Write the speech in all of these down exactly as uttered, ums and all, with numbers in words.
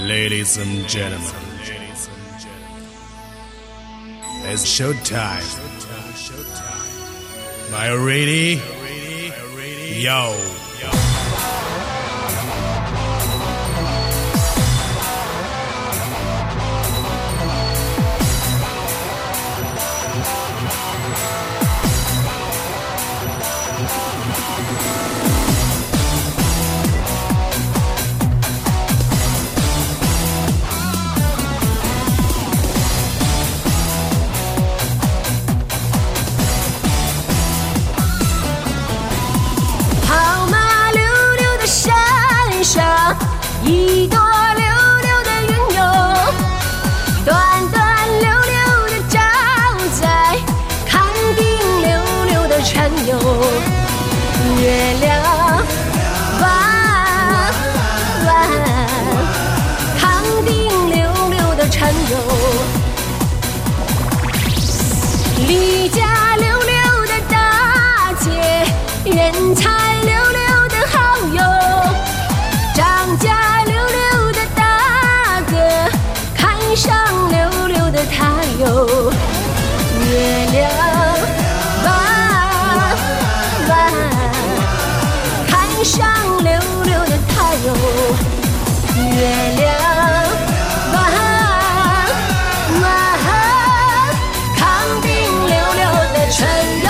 Ladies and gentlemen, it's showtime. Are you ready? Yo. 一朵溜溜的云哟，端端溜溜的照在康定溜溜的山哟，月亮弯弯，康定溜溜的山哟，李家溜溜的大姐，人才溜溜的好友，张家上溜溜的他哟，月亮弯弯，看上溜溜的他哟，月亮弯弯，康定溜溜的春哟。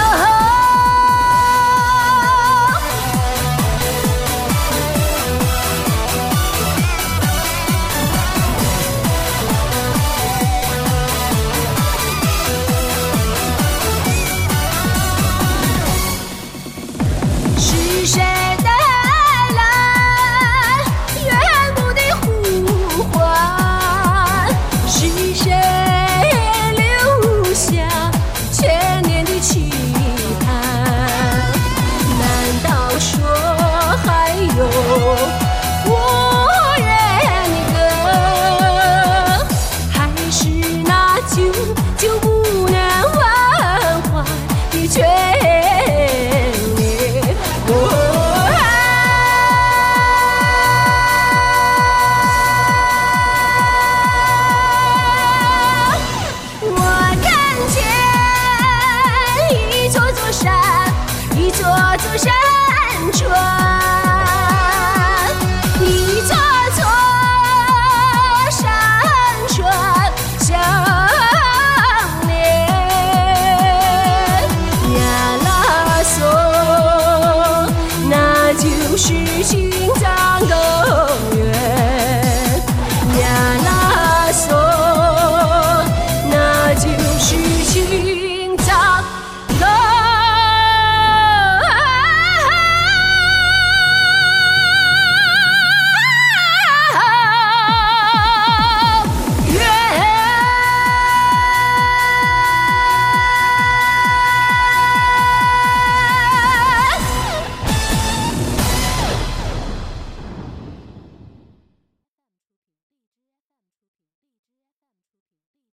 是谁带来远古的呼唤？是谁留下千年的期盼？难道说还有我愿的歌？还是那久久不能忘怀的眷一座座山川，一座座山川相连，呀啦嗦，那就是